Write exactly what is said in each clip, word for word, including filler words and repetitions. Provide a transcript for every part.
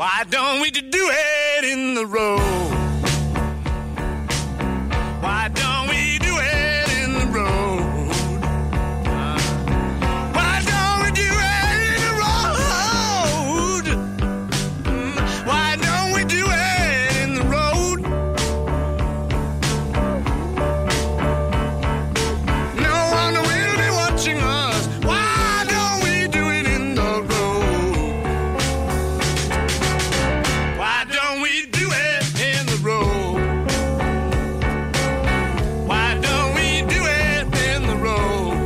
Why don't we do it in the road? Why don't we do it in the road? Why don't we do it in the road? Why don't we do it in the road? No one will be watching us. Why don't we do it in the road? Why don't we do it in the road? Why don't we do it in the road?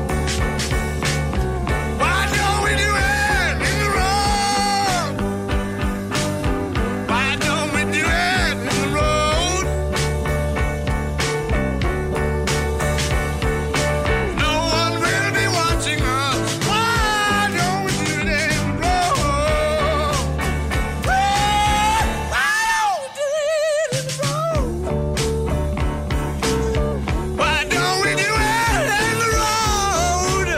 Why don't we do it in the road? Why don't we do it in the road? No one will be watching us. Why don't we do it in the road? Why don't we do it in the road? Why don't we do it in the road?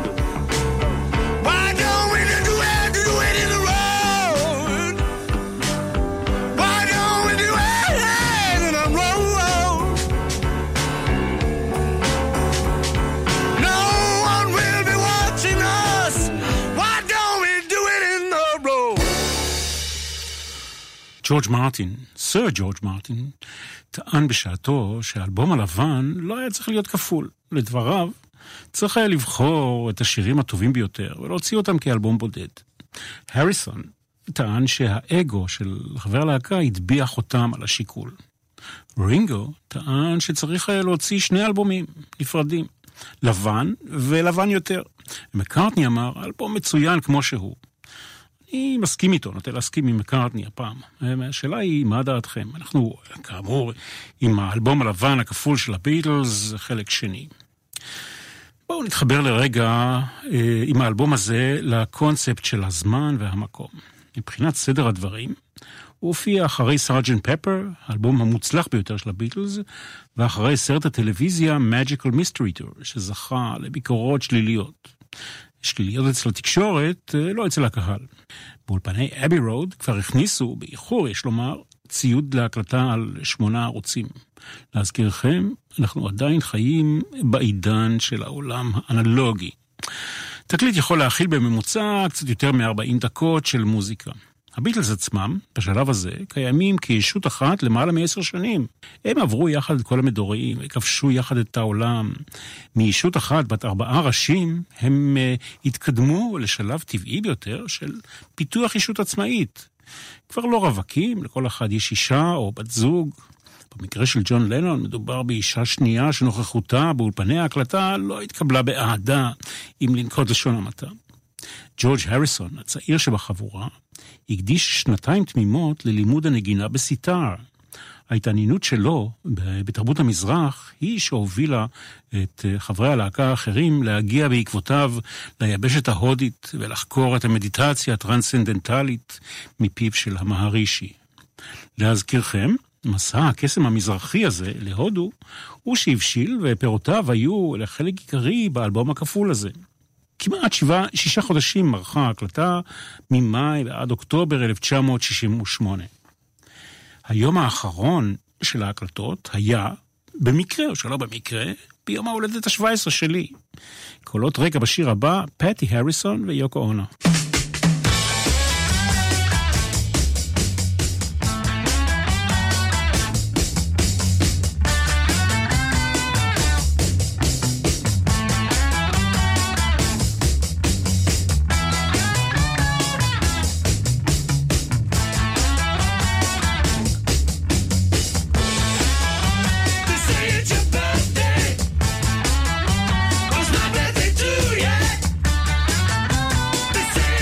Why don't we do it, do it in the road? Why don't we do it in the road? No one will be watching us. Why don't we do it in the road? ג'ורג' מרטין, סר ג'ורג' מרטין, טען בשעתו שהאלבום הלבן לא היה צריך להיות כפול. לדבריו, צריך היה לבחור את השירים הטובים ביותר ולהוציא אותם כאלבום בודד. הריסון טען שהאגו של חבר להקה הטביע אותם על השיקול. רינגו טען שצריך היה להוציא שני אלבומים נפרדים, לבן ולבן יותר. מקארטני אמר, אלבום מצוין כמו שהוא. אני מסכים איתו, נוטה להסכים עם מקארטני הפעם. השאלה היא, מה דעתכם? אנחנו, כאמור, עם האלבום הלבן הכפול של הביטלס, חלק שני. בואו נתחבר לרגע אה, עם האלבום הזה לקונספט של הזמן והמקום. מבחינת סדר הדברים, הוא הופיע אחרי סארג'נט פפר, האלבום המוצלח ביותר של הביטלס, ואחרי סרט הטלוויזיה Magical Mystery Tour, שזכה לביקורות שליליות. שליליות אצל התקשורת, לא אצל הקהל. באולפני אבי רוד כבר הכניסו, באיחור יש לומר, ציוד להקלטה על שמונה ערוצים. להזכירכם, אנחנו עדיין חיים בעידן של העולם האנלוגי. תקליט יכול להכיל בממוצע קצת יותר מ-ארבעים דקות של מוזיקה. הביטלס עצמם, בשלב הזה, קיימים כישות אחת למעלה מעשר שנים. הם עברו יחד את כל המדורים, וכבשו יחד את העולם. מישות אחת בת ארבעה ראשים, הם uh, התקדמו לשלב טבעי ביותר של פיתוח אישות עצמאית. כבר לא רווקים, לכל אחד יש אישה או בת זוג. במקרה של ג'ון לנון מדובר באישה שנייה שנוכחותה באולפני ההקלטה לא התקבלה באהדה, אם לנקוט לשון המעטה. ג'ורג' הריסון, הצעיר שבחבורה, הקדיש שנתיים תמימות ללימוד הנגינה בסיטר. ההתעניינות שלו בתרבות המזרח היא שהובילה את חברי הלהקה האחרים להגיע בעקבותיו ליבשת ההודית ולחקור את המדיטציה הטרנסצנדנטלית מפיו של המהרישי. להזכירכם, מסע הקסם המזרחי הזה להודו הוא שהבשיל ופירותיו היו לחלק עיקרי באלבום הכפול הזה. כמעט שבעה, שישה חודשים מרחה ההקלטה ממאי ועד אוקטובר אלף תשע מאות שישים ושמונה. היום האחרון של ההקלטות היה, במקרה או שלא במקרה, ביום ההולדת ה-שבע עשרה שלי. קולות רקע בשיר הבא, פטי הריסון ויוקו אונו. Say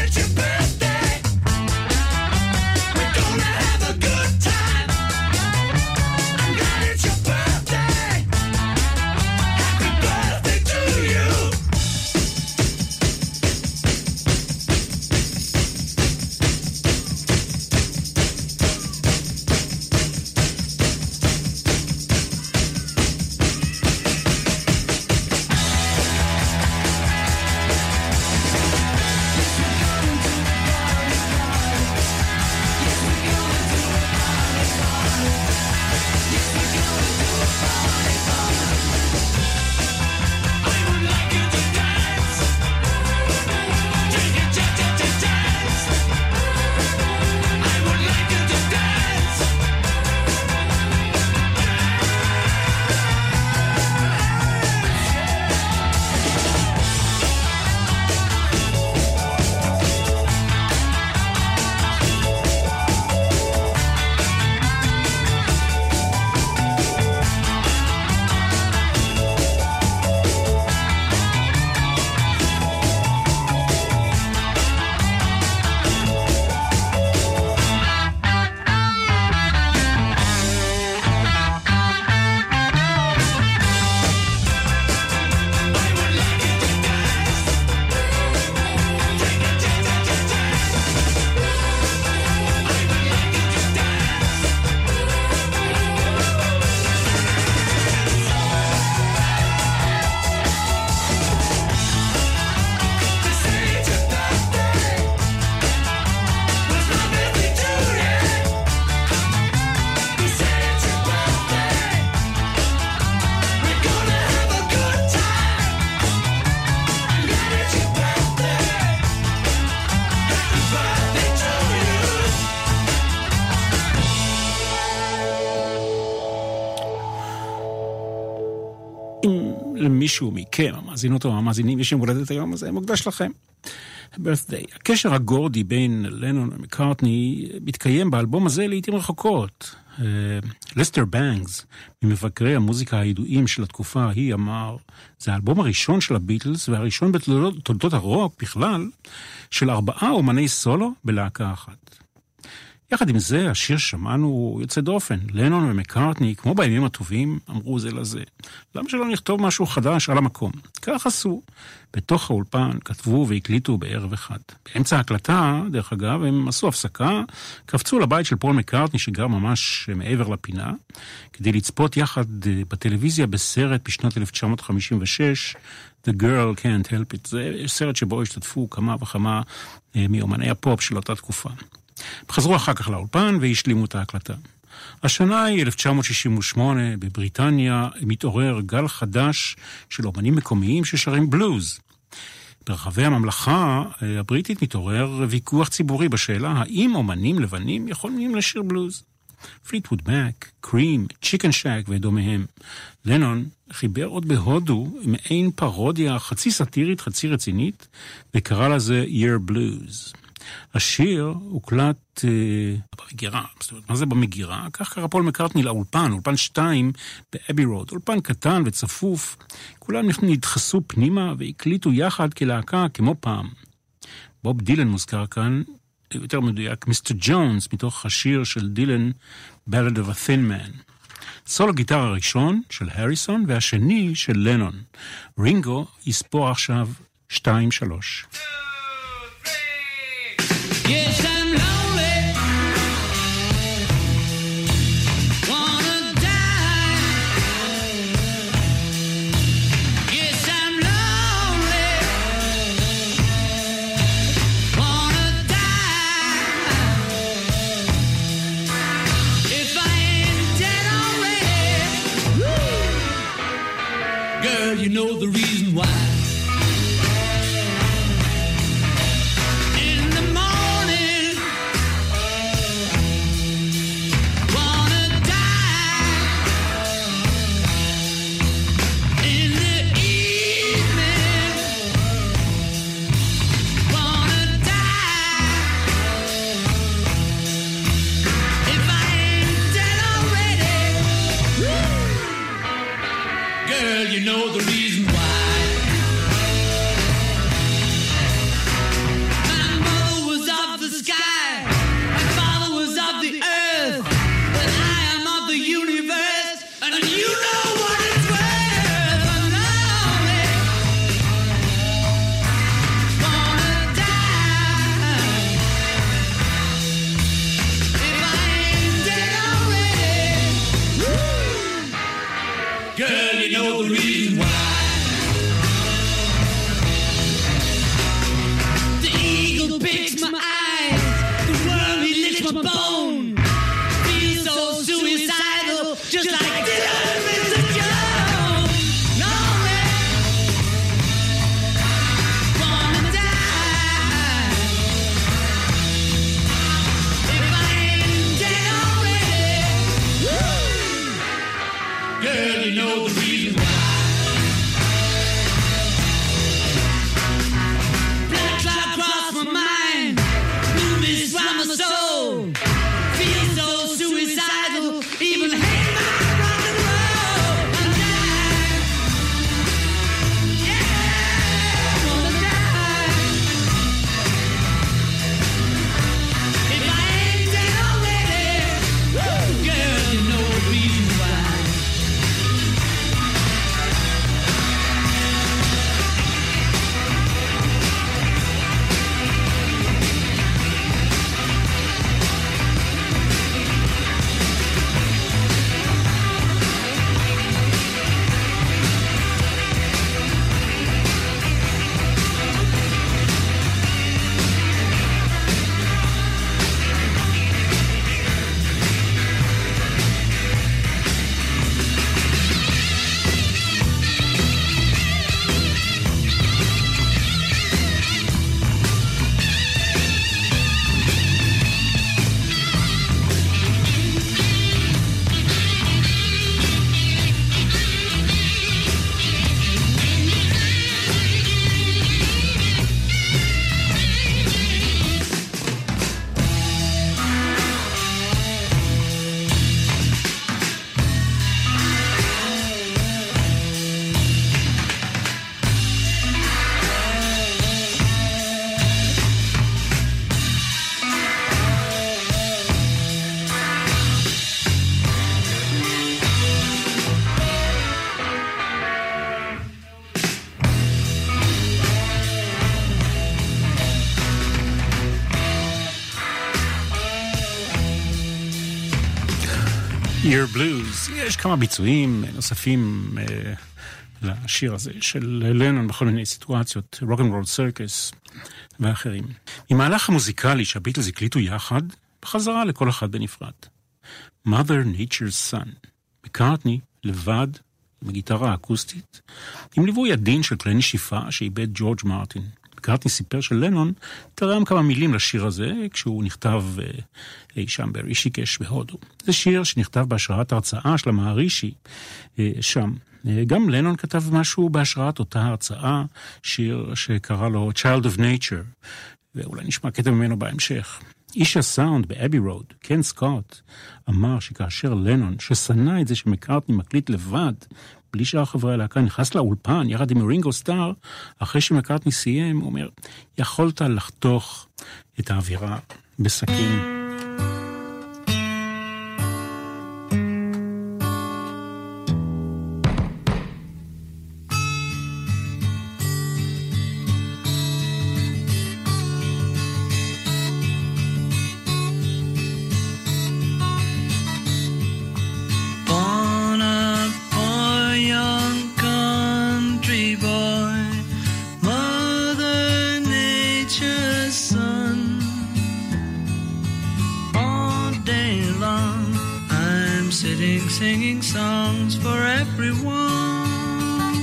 למישהו מכם, המאזינות או המאזינים, יש יום הולדת היום הזה, מוקדש לכם. birthday. הקשר הגורדי בין לנון ומקארטני מתקיים באלבום הזה לעתים רחוקות. לסטר בנגס, ממבקרי המוזיקה הידועים של התקופה ההיא, אמר, זה האלבום הראשון של הביטלס והראשון בתולדות הרוק בכלל של ארבעה אומני סולו בלהקה אחת. יחד עם זה, השיר שמענו יוצא דופן. לנון ומקארטני, כמו בימים הטובים, אמרו זה לזה. למה שלא נכתוב משהו חדש על המקום? כך עשו. בתוך האולפן כתבו והקליטו בערב אחד. באמצע ההקלטה, דרך אגב, הם עשו הפסקה, קפצו לבית של פול מקארטני שגר ממש מעבר לפינה, כדי לצפות יחד בטלוויזיה בסרט בשנת אלף תשע מאות חמישים ושש, The Girl Can't Help It. זה סרט שבו השתתפו כמה וכמה מאומני הפופ של אותה תקופה. חזרו אחר כך לאולפן והשלימו את ההקלטה. השנה היא אלף תשע מאות שישים ושמונה, בבריטניה מתעורר גל חדש של אומנים מקומיים ששרים בלוז. ברחבי הממלכה הבריטית מתעורר ויכוח ציבורי בשאלה האם אומנים לבנים יכולים לשיר בלוז. פליטווד מק, קרים, צ'יקן שק ודומיהם. לנון חיבר עוד בהודו מעין פרודיה חצי סאטירית חצי רצינית וקרא לזה Year Blues. השיר הוקלט אה, במגירה, זאת אומרת, מה זה במגירה? כך קרא פול מקארטני לאולפן, אולפן שתיים באבי רוד, אולפן קטן וצפוף, כולם נדחסו פנימה והקליטו יחד כלהקה כמו פעם. בוב דילן מוזכר כאן, יותר מדויק, מיסטר ג'ונס, מתוך השיר של דילן, Ballad of a Thin Man. סולו גיטר הראשון של הריסון והשני של לנון. רינגו יספור עכשיו שתיים שלוש. Yes, I'm lonely. Wanna die. Yes, I'm lonely. Wanna die. If I ain't dead already. Woo. Girl, you know the reason why. You know the reason why. My mother was of the sky, my father was of the earth, but I am of the universe, and you know what it's worth. I'm lonely, wanna die. If I ain't dead already, woo. Girl, you know the reason why. Your Blues. יש כמה ביצועים נוספים אה, לשיר הזה של לנון בכל מיני סיטואציות, Rock and Roll Circus ואחרים. ממהלך המוזיקלי שהביטלס הקליטו יחד, בחזרה לכל אחד בנפרד. Mother Nature's Son. מקארטני לבד, עם הגיטרה האקוסטית, עם ליווי עדין של כלי נשיפה שאיבד ג'ורג' מרטין. מקארטני סיפר שלנון תרם כמה מילים לשיר הזה כשהוא נכתב אי שם ברישיקש בהודו. זה שיר שנכתב בהשראת הרצאה של המערישי שם. גם לנון כתב משהו בהשראת אותה הרצאה, שיר שקרא לו Child of Nature, ואולי נשמע קטע ממנו בהמשך. איש הסאונד באבי רוד, קן סקוט, אמר שכאשר לנון, ששנא את זה שמקארטני מקליט לבד, בלי שאר חברי הלהקה, נכנס לאולפן יחד עם רינגו סטאר, אחרי שמקארטני סיים, הוא אומר, יכולת לחתוך את האווירה בסכין. Singing songs for everyone.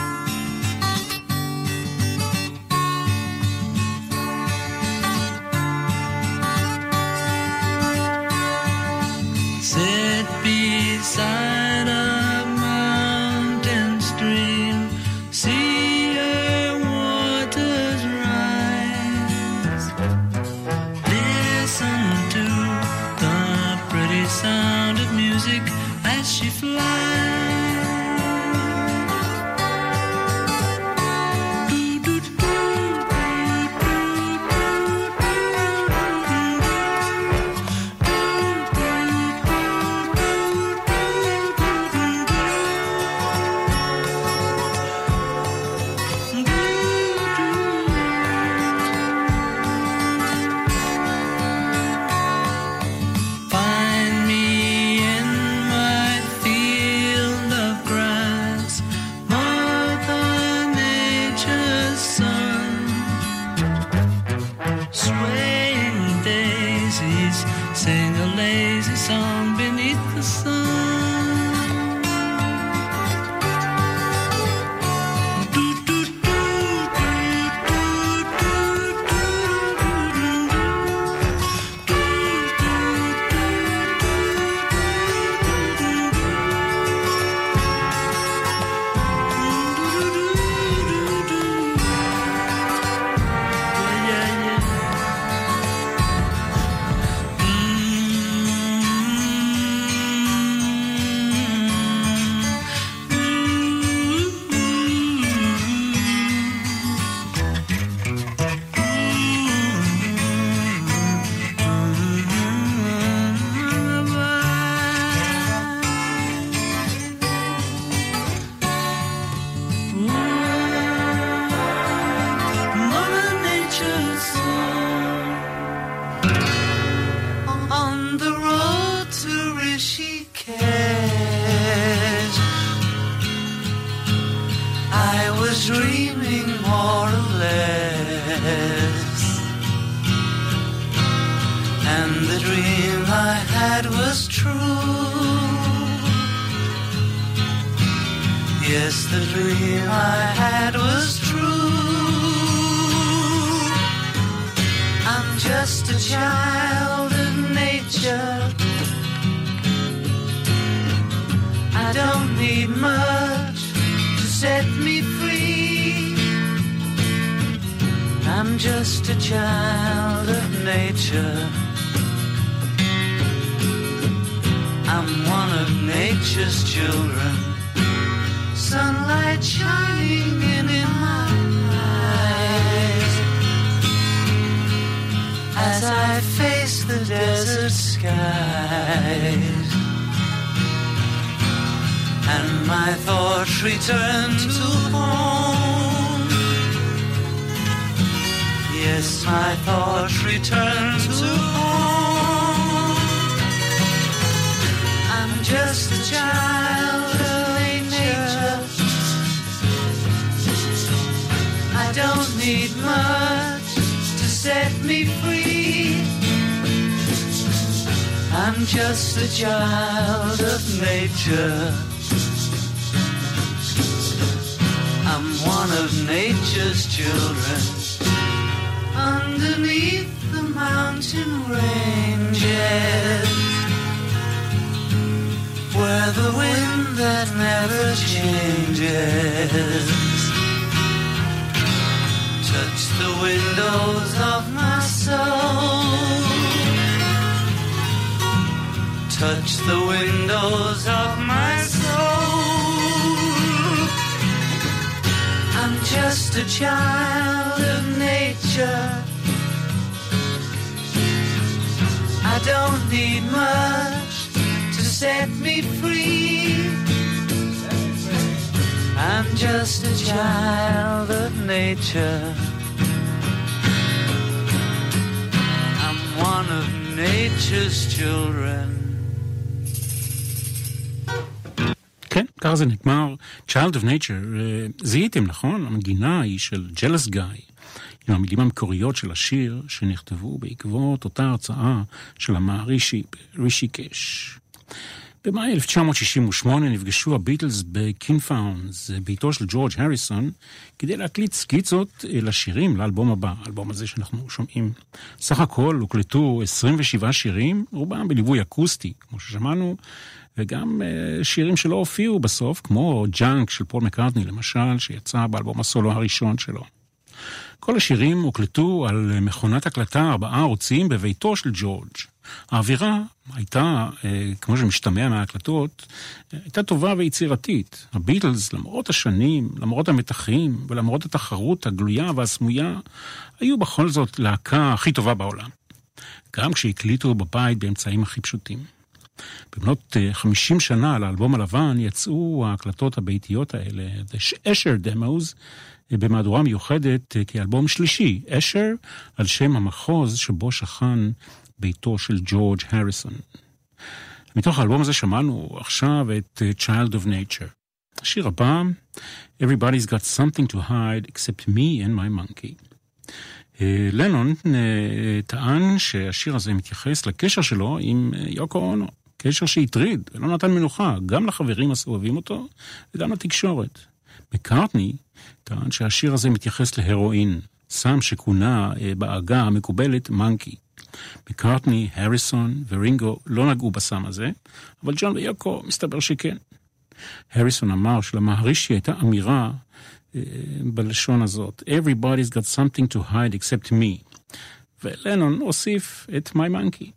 Sit beside a mountain stream, see her waters rise. Listen to the pretty sound of music as she flies. I'm just a child of nature. I don't need much to set me free. I'm just a child of nature. I'm one of nature's children. Underneath the mountain ranges, where the wind that never changes touch the windows of my soul, touch the windows of my soul. I'm just a child of nature. I don't need much to set me free. I'm just a child of nature. I'm one of nature's children. כן, ככה זה נגמר. Child of Nature. זיהיתם, נכון? המגינה היא של Jealous Guy, עם המילים המקוריות של השיר שנכתבו בעקבות אותה הרצאה של המערישי רישיקש. במאי אלף תשע מאות שישים ושמונה נפגשו הביטלס בקינפאונדס, ביתו של ג'ורג' הריסון, כדי להקליט סקיצות לשירים לאלבום הבא, האלבום הזה שאנחנו שומעים. סך הכל הוקלטו עשרים ושבעה שירים, רובם בליווי אקוסטי, כמו ששמענו, וגם שירים שלא הופיעו בסוף, כמו ג'אנק של פול מקארטני למשל, שיצא באלבום הסולו הראשון שלו. כל השירים הוקלטו על מכונת הקלטה ארבעה ערוצים בביתו של ג'ורג'. האווירה הייתה, כמו שמשתמע מההקלטות, הייתה טובה ויצירתית. הביטלס, למרות השנים, למרות המתחים ולמרות התחרות הגלויה והסמויה, היו בכל זאת להקה הכי טובה בעולם. גם כשהקליטו בבית באמצעים הכי פשוטים. במנות חמישים שנה לאלבום הלבן יצאו ההקלטות הביתיות האלה, The Escher Demos, במהדורה מיוחדת כאלבום שלישי, אשר על שם המחוז שבו שכן ביתו של ג'ורג' הריסון. מתוך האלבום הזה שמענו עכשיו את Child of Nature. השיר הבא, Everybody's got something to hide except me and my monkey. לנון טען שהשיר הזה מתייחס לקשר שלו עם יוקו אונו, קשר שהטריד ולא נתן מנוחה גם לחברים הסובבים אותו וגם לתקשורת. מקארטני טען שהשיר הזה מתייחס להרואין, סם שכונה בעגה המקובלת מנקי. מקארטני, הריסון ורינגו לא נגעו בסם הזה, אבל ג'ון ויוקו מסתבר שכן. הריסון אמר שלמהרישי הייתה אמירה אה, בלשון הזאת, Everybody's got something to hide except me. ולנון הוסיף את My Monkey.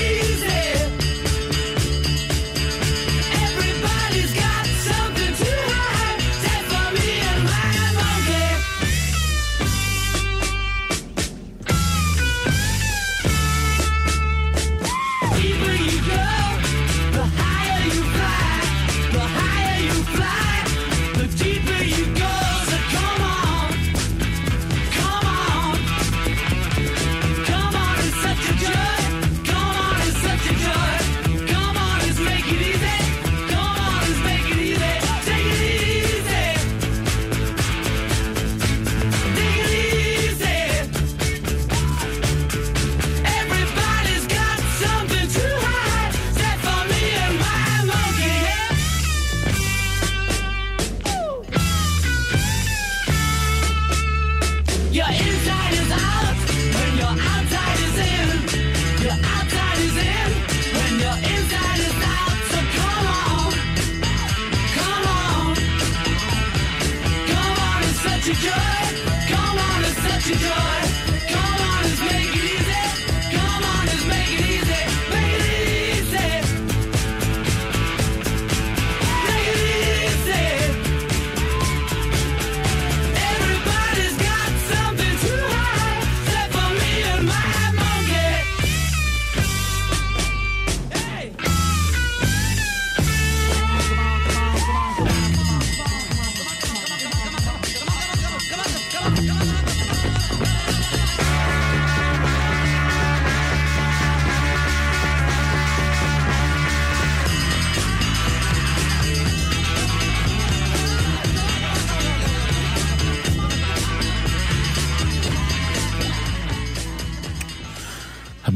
Everybody's got something to hide.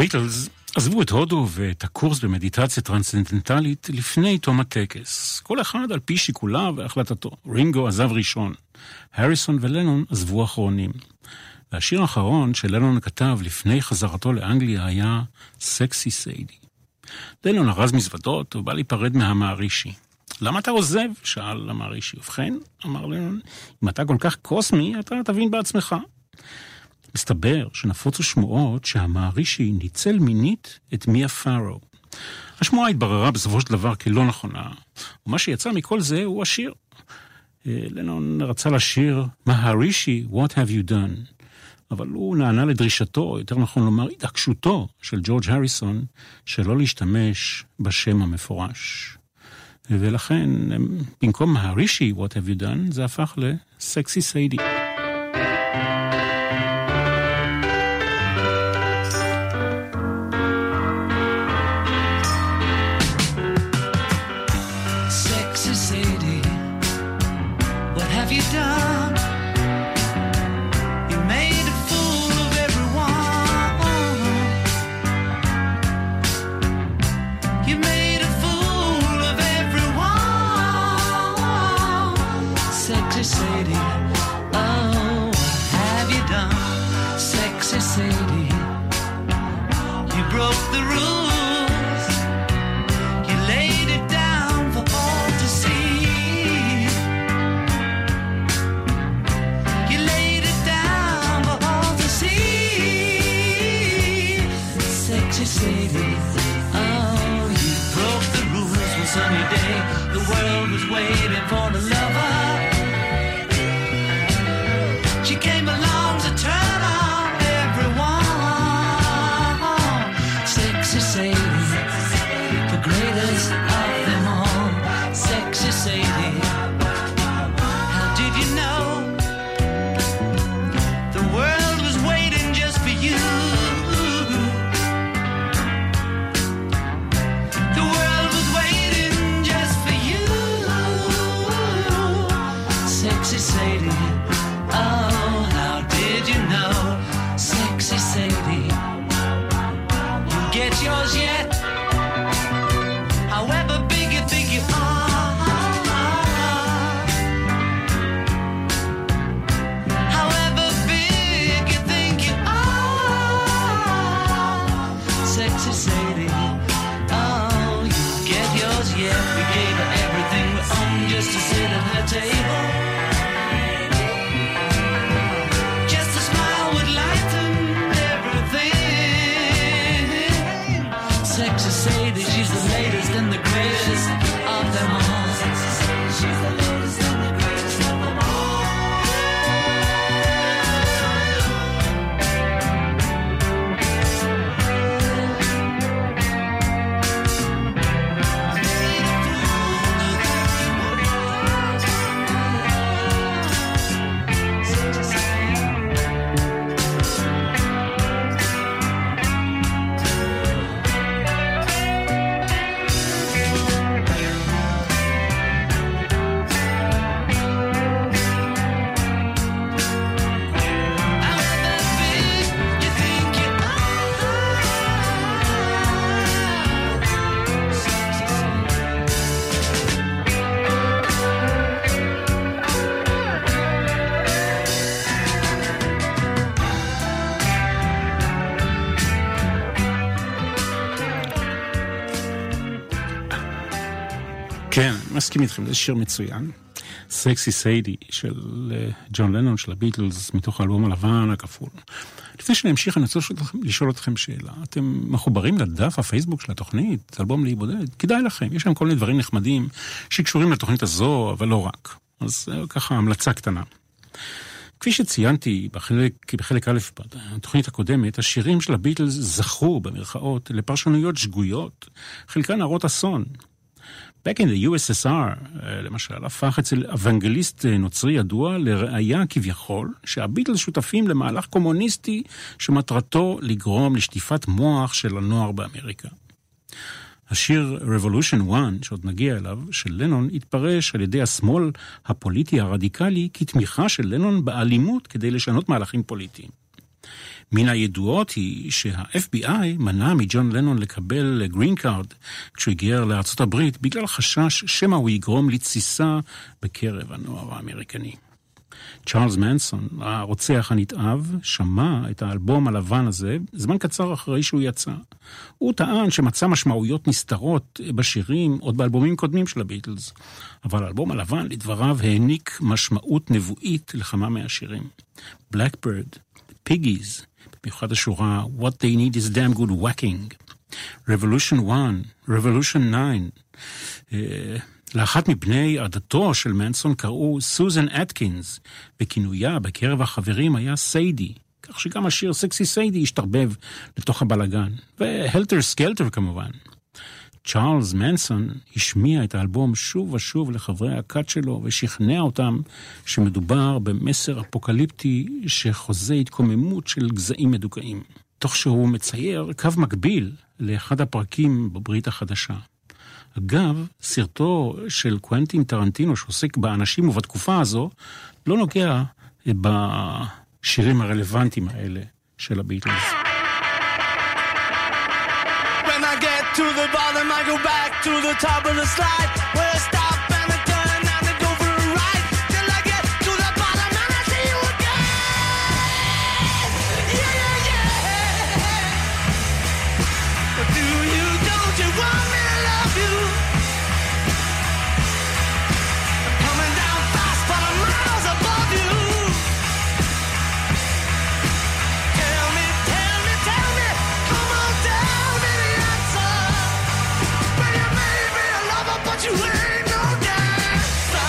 הביטלס עזבו את הודו ואת הקורס במדיטציה טרנסצנדנטלית לפני תום הטקס, כל אחד על פי שיקוליו והחלטתו. רינגו עזב ראשון, הריסון ולנון עזבו אחרונים. והשיר האחרון שלנון כתב לפני חזרתו לאנגליה היה סקסי סיידי. לנון ארז מזוודות ובא להיפרד מהמערישי. למה אתה עוזב? שאל המערישי. ובכן, אמר לנון, אם אתה כל כך קוסמי, אתה תבין בעצמך. מסתבר שנפוצו שמועות שהמערישי ניצל מינית את מיה פארו. השמועה התבררה בסופו של דבר כלא נכונה, ומה שיצא מכל זה הוא השיר. לנון רצה לשיר מהרישי, What have you done? אבל הוא נענה לדרישתו, יותר נכון לומר התעקשותו של ג'ורג' הריסון, שלא להשתמש בשם המפורש. ולכן, במקום מהרישי, What have you done? זה הפך לסקסי סיידי. כן, מסכים איתכם, זה שיר מצוין. סקסי סיידי של ג'ון לנון, של הביטלס, מתוך האלבום הלבן הכפול. לפני שאני אמשיך, אני רוצה לשאול אתכם שאלה. אתם מחוברים לדף הפייסבוק של התוכנית, אלבום להיבודד? כדאי לכם, יש שם כל מיני דברים נחמדים שקשורים לתוכנית הזו, אבל לא רק. אז ככה, המלצה קטנה. כפי שציינתי בחלק, בחלק א' בתוכנית הקודמת, השירים של הביטלס זכו במרכאות לפרשנויות שגויות, חלקן הרות אסון. Back in the U S S R, למשל, הפך אצל אוונגליסט נוצרי ידוע לראיה כביכול שהביטלס שותפים למהלך קומוניסטי שמטרתו לגרום לשטיפת מוח של הנוער באמריקה. השיר Revolution אחת, שעוד נגיע אליו, של לנון, התפרש על ידי השמאל הפוליטי הרדיקלי כתמיכה של לנון באלימות כדי לשנות מהלכים פוליטיים. מן הידועות היא שה-אף בי איי מנע מג'ון לנון לקבל גרין קארד כשהוא הגיע לארצות הברית בגלל חשש שמא הוא יגרום לתסיסה בקרב הנוער האמריקני. צ'ארלס מנסון, הרוצח הנתעב, שמע את האלבום הלבן הזה זמן קצר אחרי שהוא יצא. הוא טען שמצא משמעויות נסתרות בשירים עוד באלבומים קודמים של הביטלס, אבל האלבום הלבן לדבריו העניק משמעות נבואית לכמה מהשירים. Blackbird, Piggies, במיוחד השורה What They Need Is Damn Good Whacking, Revolution one, Revolution nine, uh, לאחת מבני עדתו של מנסון קראו סוזן אטקינס, וכינויה בקרב החברים היה סיידי, כך שגם השיר סקסי סיידי השתרבב לתוך הבלגן, והלטר סקלטר כמובן. צ'ארלס מנסון השמיע את האלבום שוב ושוב לחברי הכת שלו, ושכנע אותם שמדובר במסר אפוקליפטי שחוזה התקוממות של גזעים מדוכאים, תוך שהוא מצייר קו מקביל לאחד הפרקים בברית החדשה. אגב, סרטו של קוונטין טרנטינו שעוסק באנשים ובתקופה הזו, לא נוגע בשירים הרלוונטיים האלה של הביטלס. When I get to the bottom, I go back to the top of the slide, where I stop and I turn and I go for a ride, till I get to the bottom and I see you again. Yeah, yeah, yeah. But do you, don't you want me to love you? I'm coming down fast, but I'm miles above you. Tell me, tell me, tell me, come on, tell me the answer. Well, you may be a lover, but you ain't no dancer.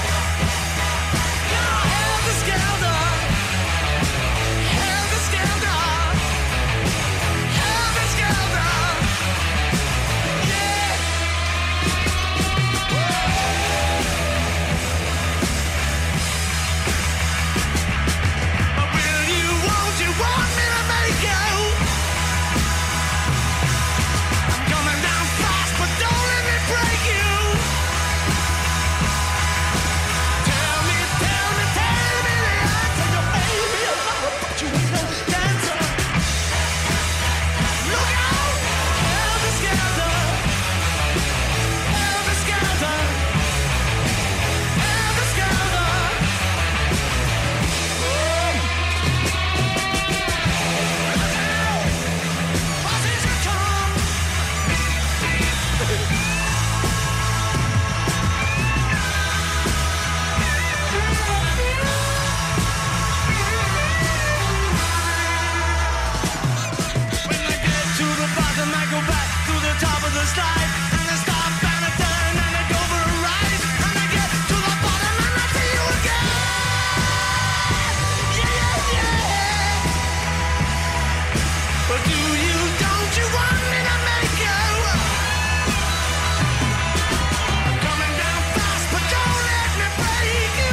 You're helter-skelter, helter-skelter, helter-skelter. Yeah. But will you, won't you want me to make you? I'm coming down fast, but don't let me break you. Tell me, tell me, tell me the answer. You may be a lover, but you ain't no dancer. Look out, helter-skelter, helter-skelter, helter-skelter. Buses are come. When I get to the bottom, I go back to the top of the slide, and I stop and I turn and I go for a ride, and I get to the bottom and I see you again. Yeah, yeah, yeah. But do you, don't you want me to make you? I'm coming down fast, but don't let me break you.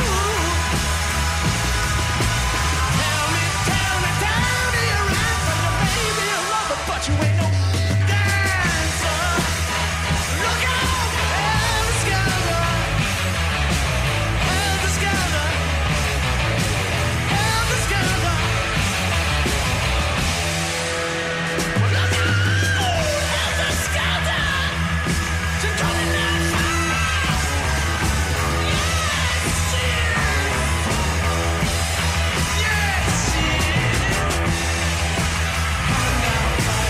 Tell me, tell me, tell me your answer. You may be a lover, but you ain't no dancer. Look out, helter-skelter, helter-skelter, helter-skelter. Look out, helter-skelter. She's coming down fast. Yes, she is. Yes, she is. Coming down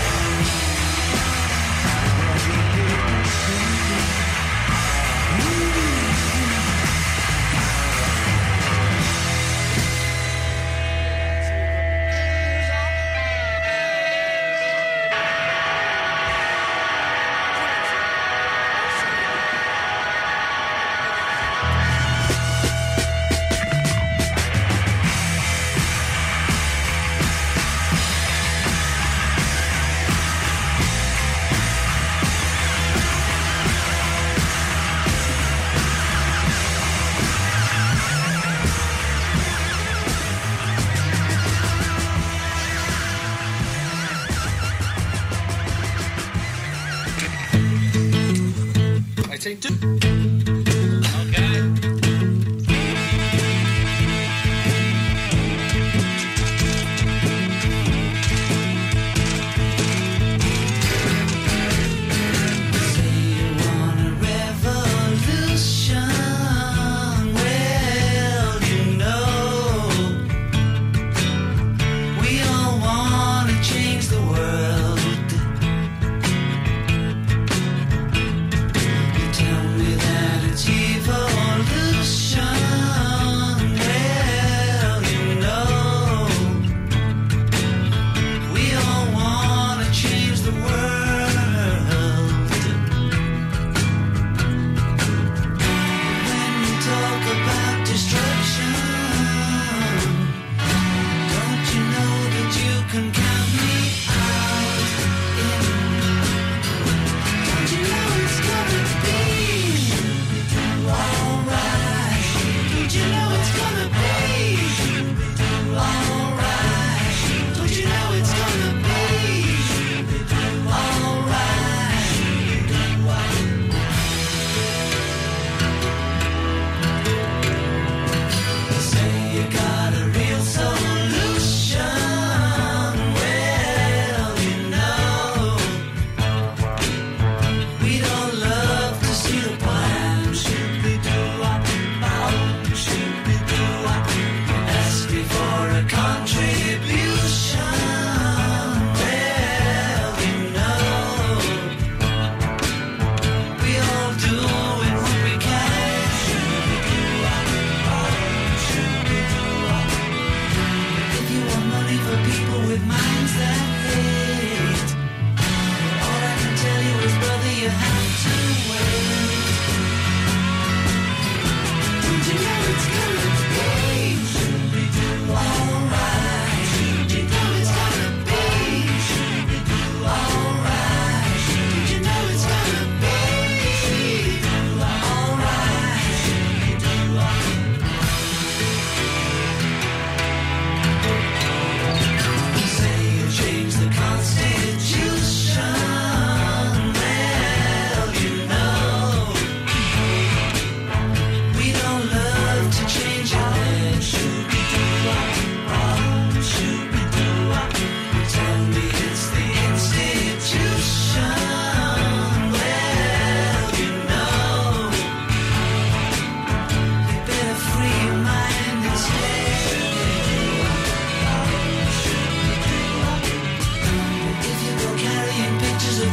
I say two. Okay.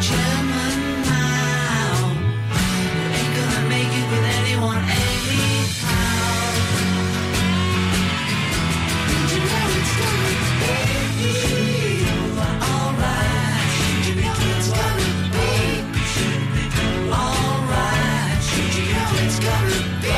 chairman now. You ain't gonna make it with anyone anyhow. Don't you know it's gonna be alright? Don't you know it's gonna be alright? Don't you know it's gonna be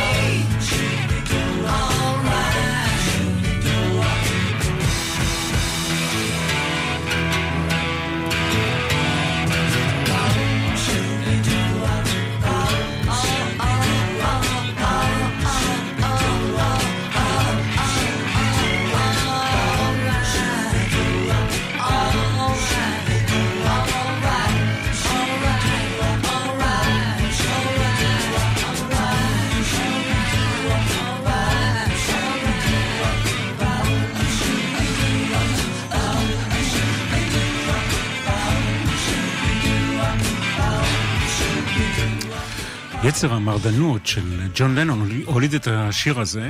יצר המרדנות של ג'ון לנון הוליד את השיר הזה,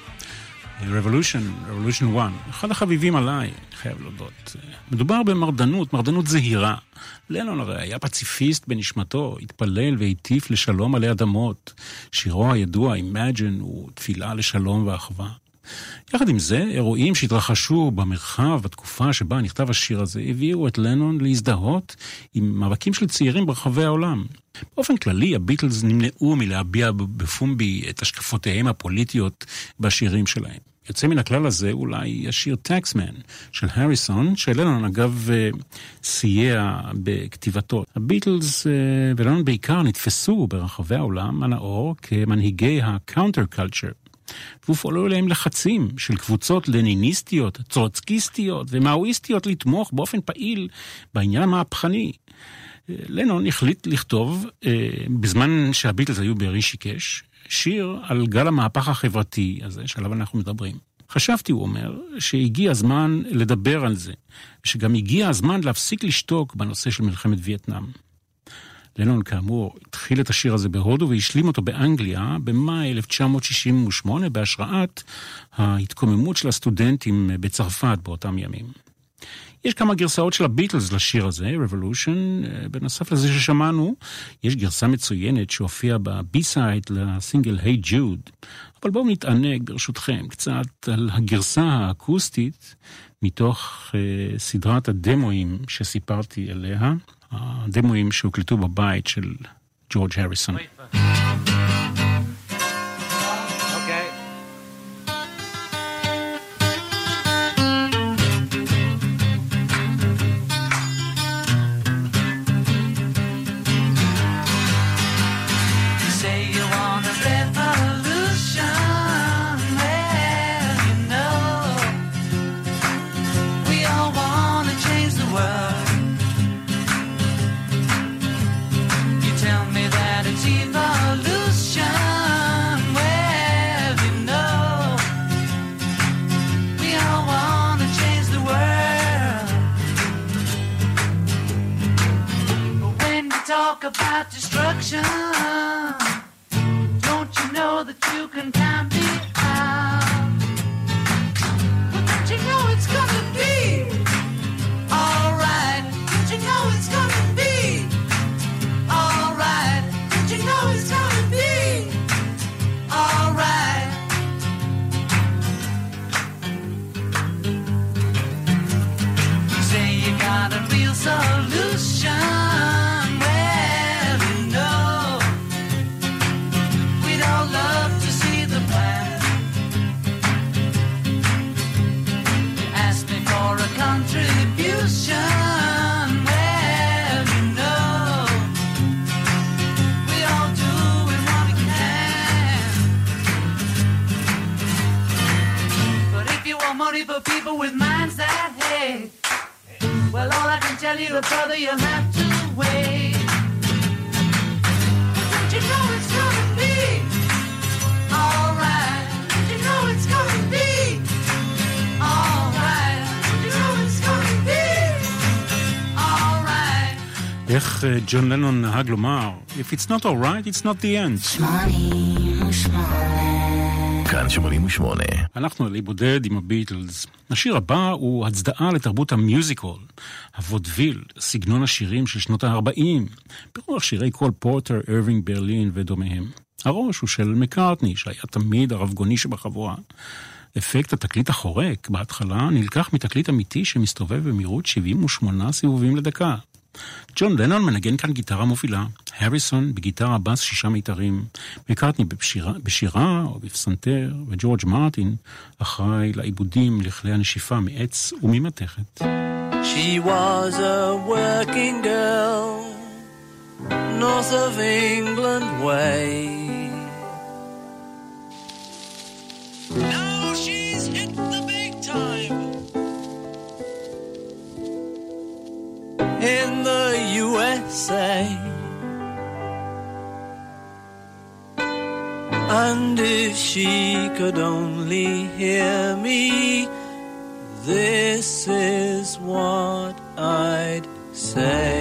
Revolution, Revolution one, אחד החביבים עליי, חייב להודות. מדובר במרדנות, מרדנות זהירה. לנון הרי היה פציפיסט בנשמתו, התפלל והטיף לשלום עלי אדמות. שירו הידוע, Imagine, הוא תפילה לשלום ואחווה. יחד עם זה, אירועים שהתרחשו במרחב, בתקופה שבה נכתב השיר הזה, הביאו את לנון להזדהות עם מאבקים של צעירים ברחבי העולם. באופן כללי, הביטלס נמנעו מלהביע בפומבי את השקפותיהם הפוליטיות בשירים שלהם. יוצא מן הכלל הזה אולי השיר טקסמן של הריסון, שלנון אגב סייע בכתיבתו. הביטלס ולנון בעיקר נתפסו ברחבי העולם הנאור כמנהיגי הקאונטר קלצ'ר. והופעלו אליהם לחצים של קבוצות לניניסטיות, צורצקיסטיות ומאואיסטיות לתמוך באופן פעיל בעניין המהפכני. לנון החליט לכתוב, בזמן שהביטלס היו ברישיקש, שיר על גל המהפך החברתי הזה, שעליו אנחנו מדברים. חשבתי, הוא אומר, שהגיע הזמן לדבר על זה, ושגם הגיע הזמן להפסיק לשתוק בנושא של מלחמת וייטנאם. לנון כאמור התחיל את השיר הזה בהודו והשלים אותו באנגליה במאי אלף תשע מאות שישים ושמונה בהשראת ההתקוממות של הסטודנטים בצרפת באותם ימים. יש כמה גרסאות של הביטלס לשיר הזה, Revolution, בנוסף לזה ששמענו, יש גרסה מצוינת שהופיעה בבי-סייד לסינגל Hey Jude, אבל בואו נתענג ברשותכם קצת על הגרסה האקוסטית מתוך uh, סדרת הדמואים שסיפרתי עליה, הדמואים שהוקלטו בבית של ג'ורג' הריסון. About destruction, don't you know that you can count me out? But don't you know it's gonna be alright? Don't you know it's gonna be alright? Don't you know it's gonna be alright? You say you got a real solution. For people with minds that hate, well, all I can tell you, brother, you'll have to wait. Don't you know it's gonna be alright? Don't you know it's gonna be alright? Don't you know it's gonna be alright? איך ג'ון לנון נהג לומר, If it's not alright, it's not the end. שמונים ושמונה כאן שמונים ושמונה. אנחנו עלי בודד עם הביטלס. השיר הבא הוא הצדעה לתרבות המיוזיקל, הוודוויל, סגנון השירים של שנות ה-ארבעים, ברוח שירי קול פורטר, אירווינג, ברלין ודומיהם. הראש הוא של מקארטני, שהיה תמיד הרבגוני שבחבורה. אפקט התקליט החורק בהתחלה נלקח מתקליט אמיתי שמסתובב במהירות שבעים ושמונה סיבובים לדקה. ג'ון לנון מנגן כאן גיטרה מובילה, הריסון בגיטרה בס שישה מיתרים, מקארטני בשירה, בשירה או בפסנתר, וג'ורג' מרטין אחראי לעיבודים לכלי הנשיפה מעץ וממתכת. She was a working girl, north of England way. Now she's hit the big time. In the U S A, and if she could only hear me, this is what I'd say.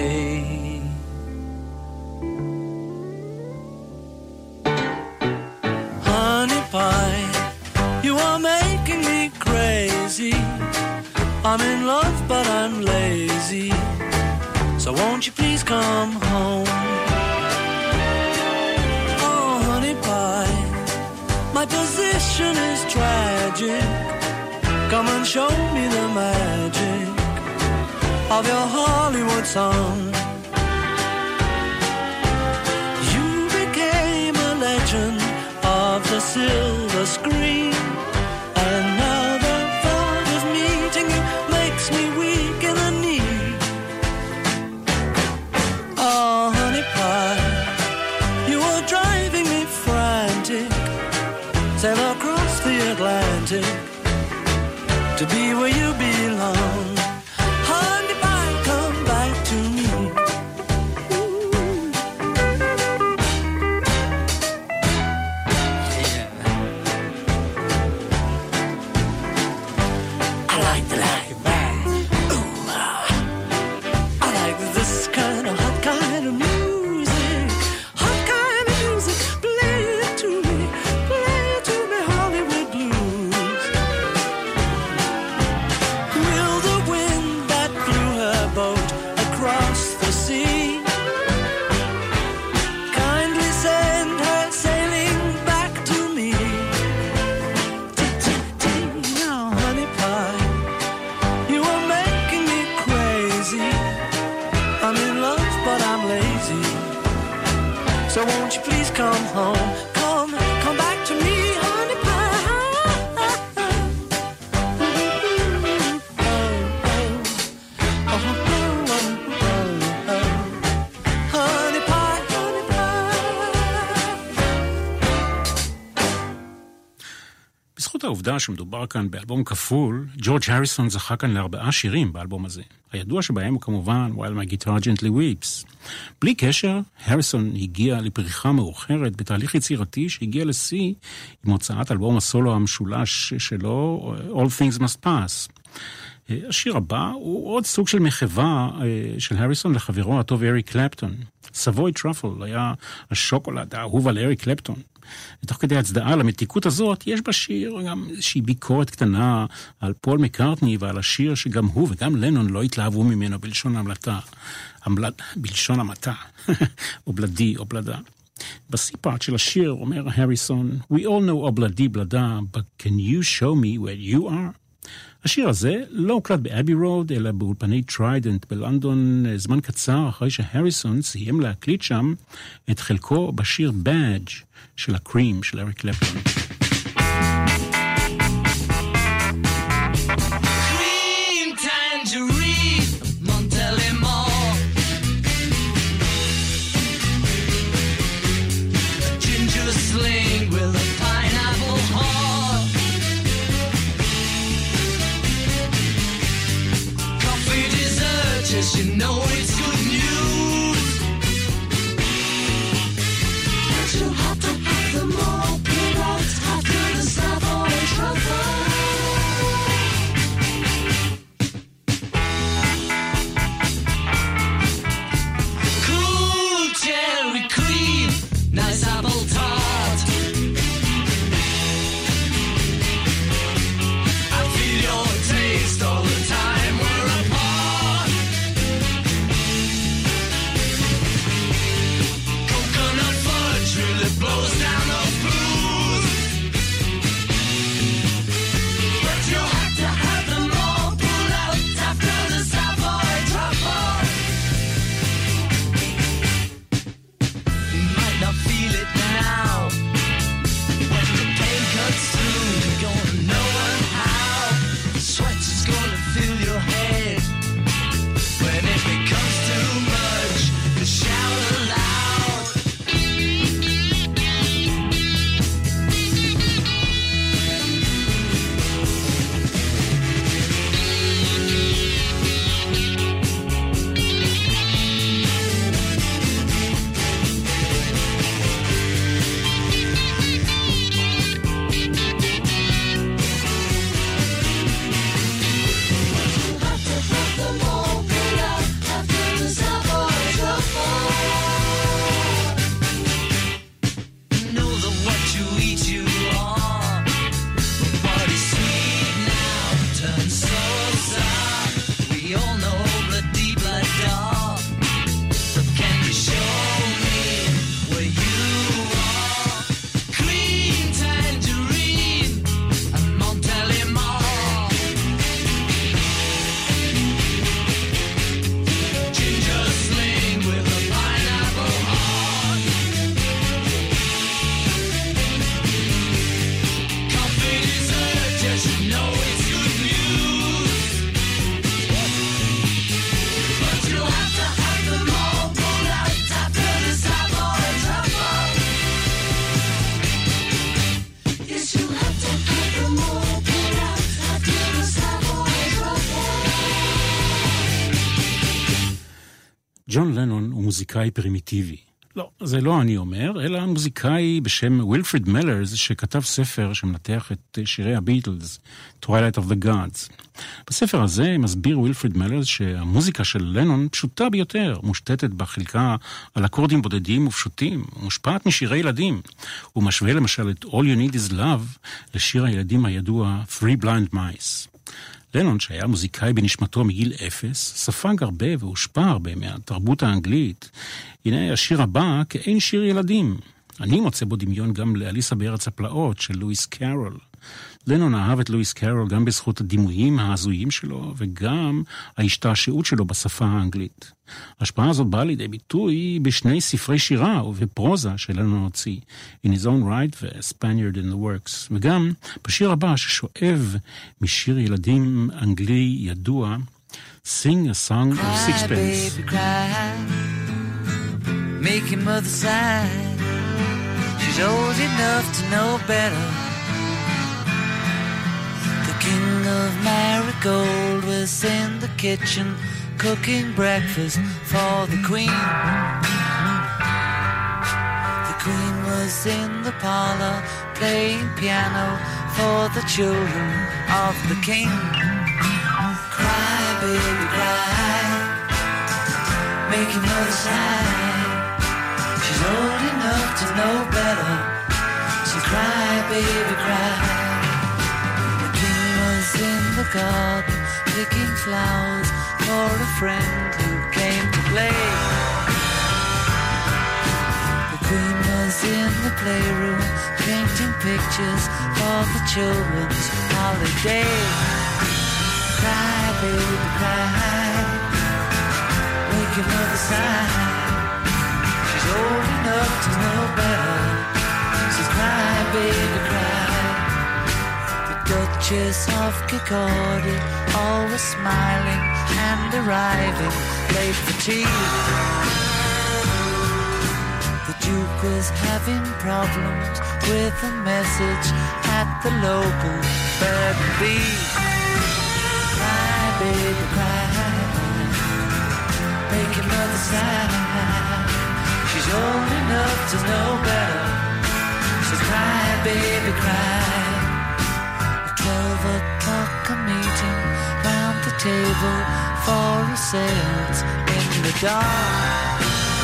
Honey pie, you are making me crazy. I'm in love but I'm lazy, so won't you please come home? Oh, honey pie, my position is tragic. Come and show me the magic of your Hollywood song. You became a legend of the silver screen, and now the thought of meeting you makes me weak in the knee. Oh, honey pie, you are driving me frantic. Sail across the Atlantic to be where you belong. Honey pie, come back to me. Yeah. I like the like it back. Ooh, ah. I like this kind of hot kind of music. Hot kind of music. Play it to me. Play it to me, Hollywood blues. Will the wind that blew her boat across the sea kindly send her sailing back to me? Now, honey pie, you are making me crazy. I'm in love, but I'm lazy. So won't you please come home? Come, come back to me, honey pie. Honey pie, honey pie. בזכות העובדה שמדובר כאן באלבום כפול, ג'ורג' הריסון זכה כאן לארבעה שירים באלבום הזה. הידוע שבהם הוא כמובן While My Guitar Gently Weeps. בלי קשר, הריסון הגיע לפריחה מאוחרת בתהליך יצירתי שהגיע לשיא עם הוצאת אלבום הסולו המשולש שלו, All Things Must Pass. השיר הבא הוא עוד סוג של מחווה של הריסון לחברו הטוב אריק קלפטון. סבוי טראפל היה השוקולד האהוב על אריק קלפטון. ותוך כדי הצדעה למתיקות הזאת, יש בשיר גם איזושהי ביקורת קטנה על פול מקארטני ועל השיר שגם הוא וגם לנון לא התלהבו ממנו בלשון המלטה, המלט, בלשון המעטה, או בלדי או בלדה. בסי-פארט של השיר אומר הריסון, We all know אובלדי בלדה, but can you show me where you are? השיר הזה לא הוקלט באבי רוד, אלא באולפני טריידנט בלונדון זמן קצר אחרי שהריסון סיים להקליט שם את חלקו בשיר Badge של הקרים של אריק קלפטון. Cream tangerine, Montelimore. A ginger sling with a pineapple heart. Coffee dessert, just you know it's good news. But you'll have to have them all put out. ג'ון לנון הוא מוזיקאי פרימיטיבי. לא, זה לא אני אומר, אלא מוזיקאי בשם וילפריד מלרס, שכתב ספר שמנתח את שירי הביטלס, Twilight of the Gods. בספר הזה מסביר וילפריד מלרס שהמוזיקה של לנון פשוטה ביותר, מושתתת בחלקה על אקורדים בודדים ופשוטים, מושפעת משירי ילדים. הוא משווה למשל את All You Need Is Love לשיר הילדים הידוע Three Blind Mice. לנון, שהיה מוזיקאי בנשמתו מגיל אפס, ספג הרבה והושפע הרבה מהתרבות האנגלית. הנה השיר הבא כאין שיר ילדים. אני מוצא בו דמיון גם לאליסה בארץ הפלאות של לואיס קארול. לנון אהב את לואיס קארול גם בזכות הדימויים ההזויים שלו, וגם ההשתעשעות שלו בשפה האנגלית. ההשפעה הזאת באה לידי ביטוי בשני ספרי שירה ובפרוזה שלנו הוציא, In His Own Right ו-Spaniard in the Works, וגם בשיר הבא ששואב משיר ילדים אנגלי ידוע, Sing a Song of Sixpence. Cry, baby, cry. Make your mother sigh. She's old enough to know better. The king of Marigold was in the kitchen cooking breakfast for the queen. The queen was in the parlor playing piano for the children of the king. Cry, baby, cry. Make your mother sigh. She's old enough to know better. So cry, baby, cry. The king was in the garden picking flowers for a friend who came to play. The queen was in the playroom painting pictures for the children's holiday. Cry, baby, cry. Make your mother sigh. She's old enough to know better. So cry, baby, cry. The Duchess of Kirkcaldy, always smiling and arriving late for tea. The Duke was having problems with a message at the local bird and bee. Cry, baby, cry. Make your mother sigh. She's old enough to know better. So cry, baby, cry. At twelve o'clock a meeting round the table for a seance in the dark.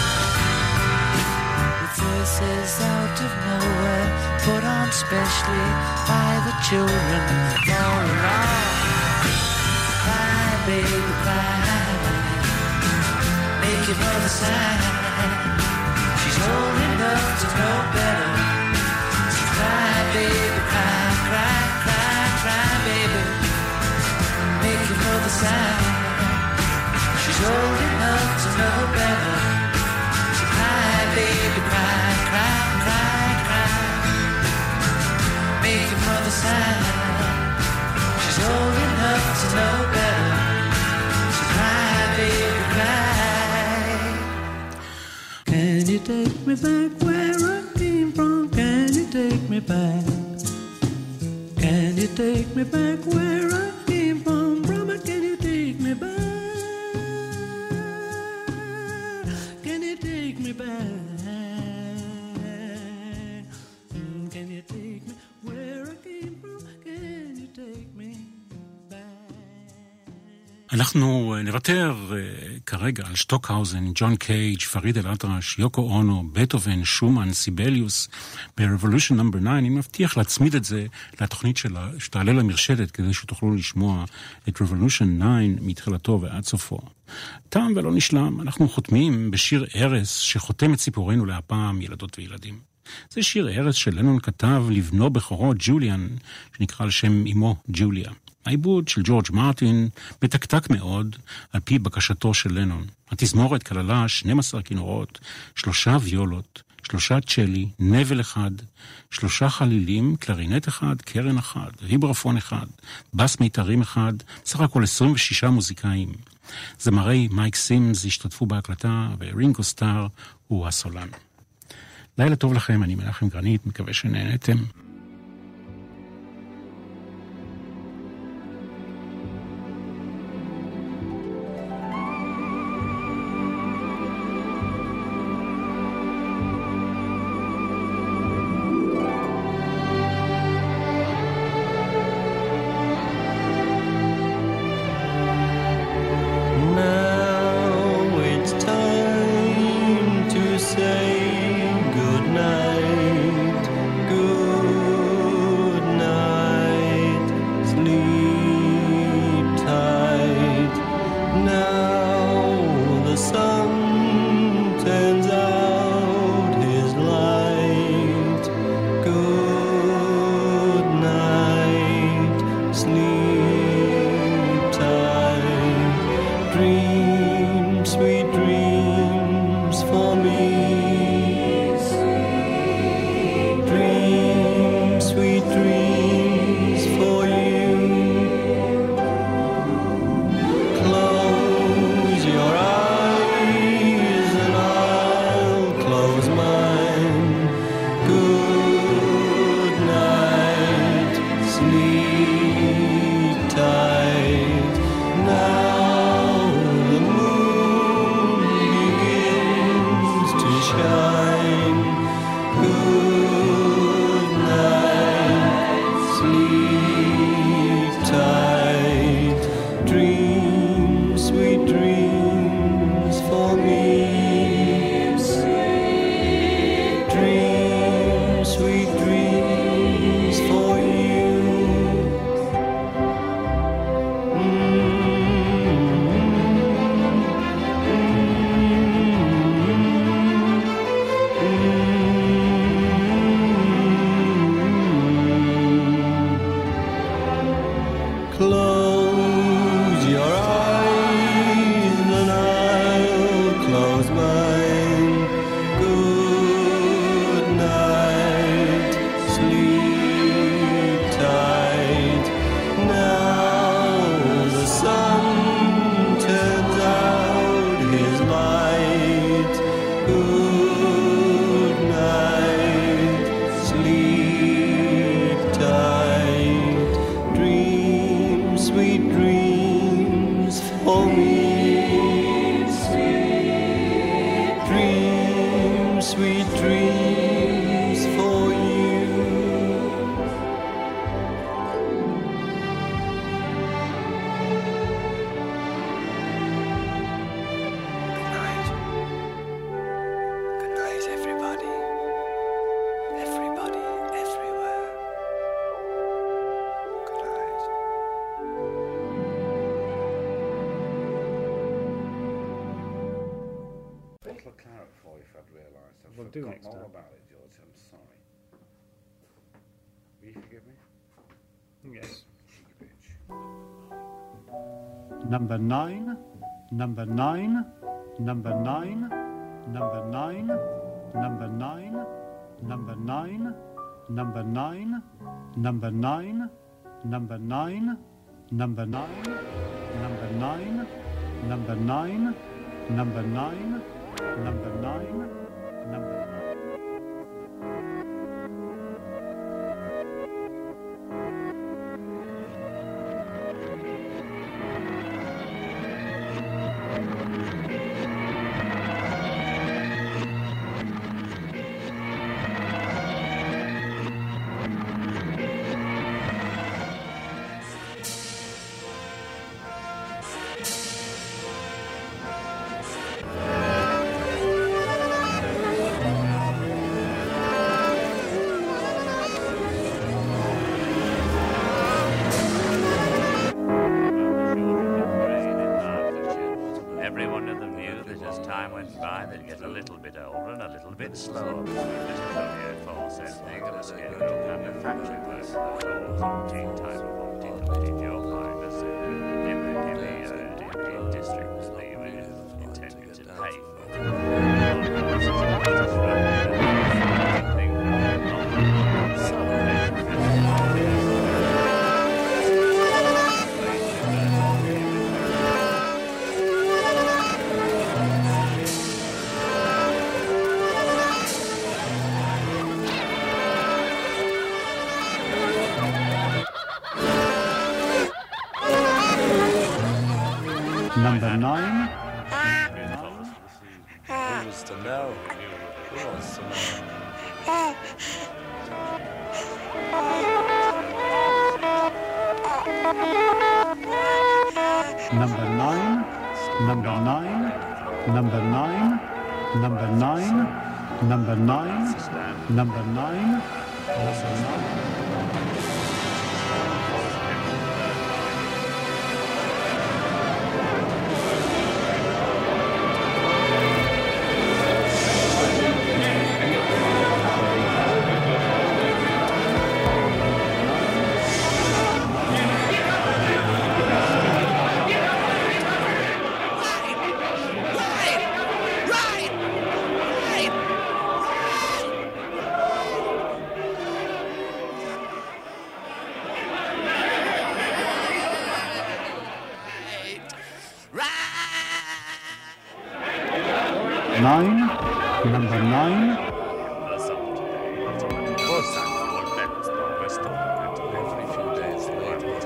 With verses out of nowhere put on specially by the children for a lark. Cry, baby, cry. Make your mother sigh. She's old enough to know better. So cry, baby, cry, cry, cry, cry, baby. Make your mother sigh. She's old enough to know better. So cry, baby, cry, cry, cry, cry. Make your mother sigh. She's old enough to know better. So cry, baby, cry. Can you take me back where I came from? Can you take me back? Can you take me back where I came from? Brother, can you take me back? Can you take me back? Can you take me where I came from? Can you take me back? אנחנו נוותר כרגע על שטוקהאוזן, ג'ון קייג', פריד אל-אטרש, יוקו אונו, בטהובן, שומן, סיבליוס, ב-Revolution נאמבר תשע. אני מבטיח להצמיד את זה לתוכנית שלה, שתעלה למרשדת, כדי שתוכלו לשמוע את Revolution תשע מתחילתו ועד סופו. תם ולא נשלם, אנחנו חותמים בשיר ארס שחותם את סיפורנו להפעם ילדות וילדים. זה שיר ארס שלנון כתב לבנו בכורו ג'וליאן, שנקרא על שם אמו ג'וליה. העיבוד של ג'ורג' מרטין מתקתק מאוד על פי בקשתו של לנון. התזמורת כללה שנים עשר כינורות, שלושה ויולות, שלושה צ'לי, נבל אחד, שלושה חלילים, קלרינט אחד, קרן אחד, ויברפון אחד, בס מיתרים אחד, סך הכל עשרים ושישה מוזיקאים. זמרי מייק סימס השתתפו בהקלטה, ורינגו סטאר הוא הסולן. לילה טוב לכם, אני מנחם גרנית, מקווה שנהנתם. Good night, sleep tight, dream sweet dreams for me. Sweet dreams, sweet dreams for you. Good night. Good night, everybody. Everybody, everywhere. Good night. Bottle of claret for you if I'd realised. I've We'll do forgotten next all time. about it, George. I'm sorry. Will you forgive me? Yes. Cheeky bitch. Number nine, number nine, number nine, number nine, number nine, number nine, number nine, number nine, number nine, number nine, number nine, number nine, number nine, number nine, number nine. Every one of them knew that as time went by, they'd get a little bit older and a little bit slower. This Collier false ending of a scarecrow manufacturing work that was umpteen time of umpteen umpteen you'll find us in the, in the, uh, in the districts that you were intending to pay Number nine, Who was to know? Who wants to know? number nine, number nine, number nine, number nine, number nine, number nine, number nine. Nine, number nine, Every few days later.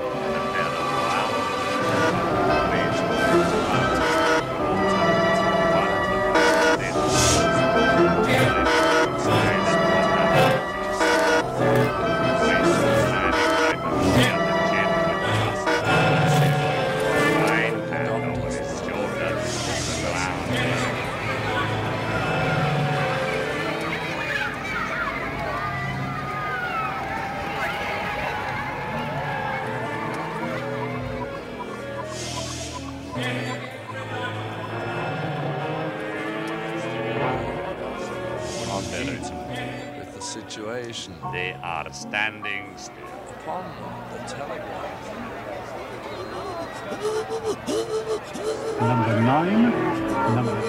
With the situation They are standing still. upon the telegraph. number nine, number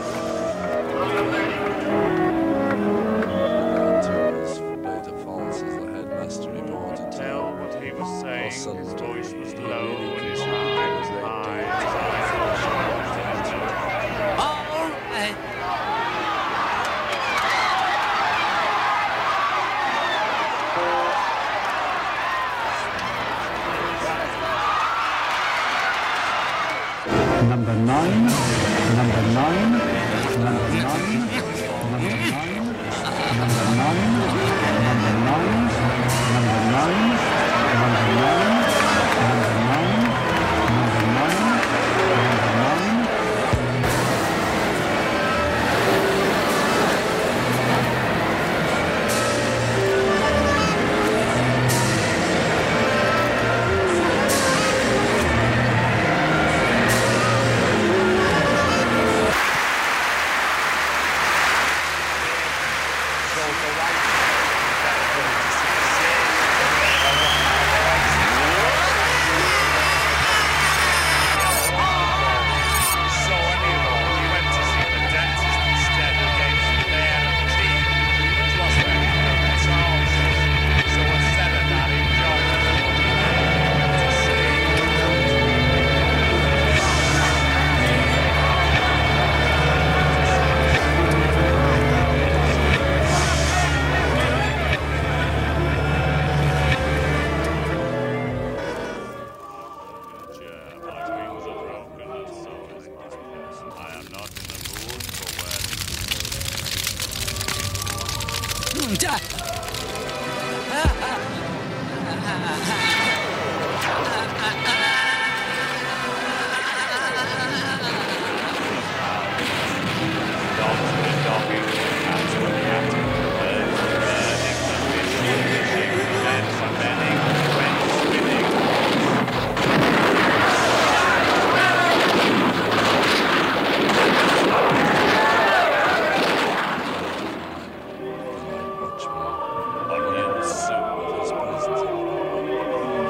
Tours for Beta Falls as the headmaster reported to Tell what he was saying. Awesome. His voice was He low really and his came eye was out. high. All right. So anyhow, he went to see the dentist instead and gave him bear and teeth, which wasn't any good at all. So instead of that, he joined the went to see. Yeah, my wings are broken and so is mine. I am not in the mood for weddings. Dogs were dogging, cats were catting, birds were birding, the fish were fishing, men were menning, went spinning. Only the soup was pleasant.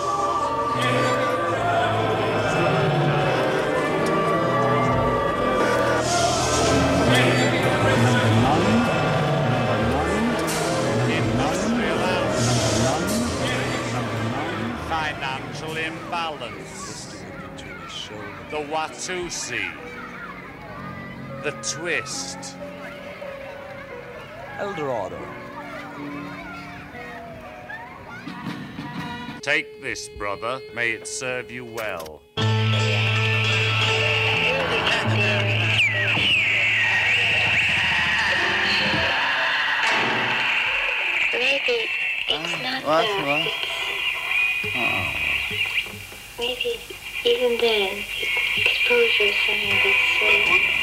Industrial house. Financial imbalance. The Watusi. The twist. Eldorado. Take this, brother. May it serve you well. Maybe it's not What? that. What? Maybe even then, exposure is something that's so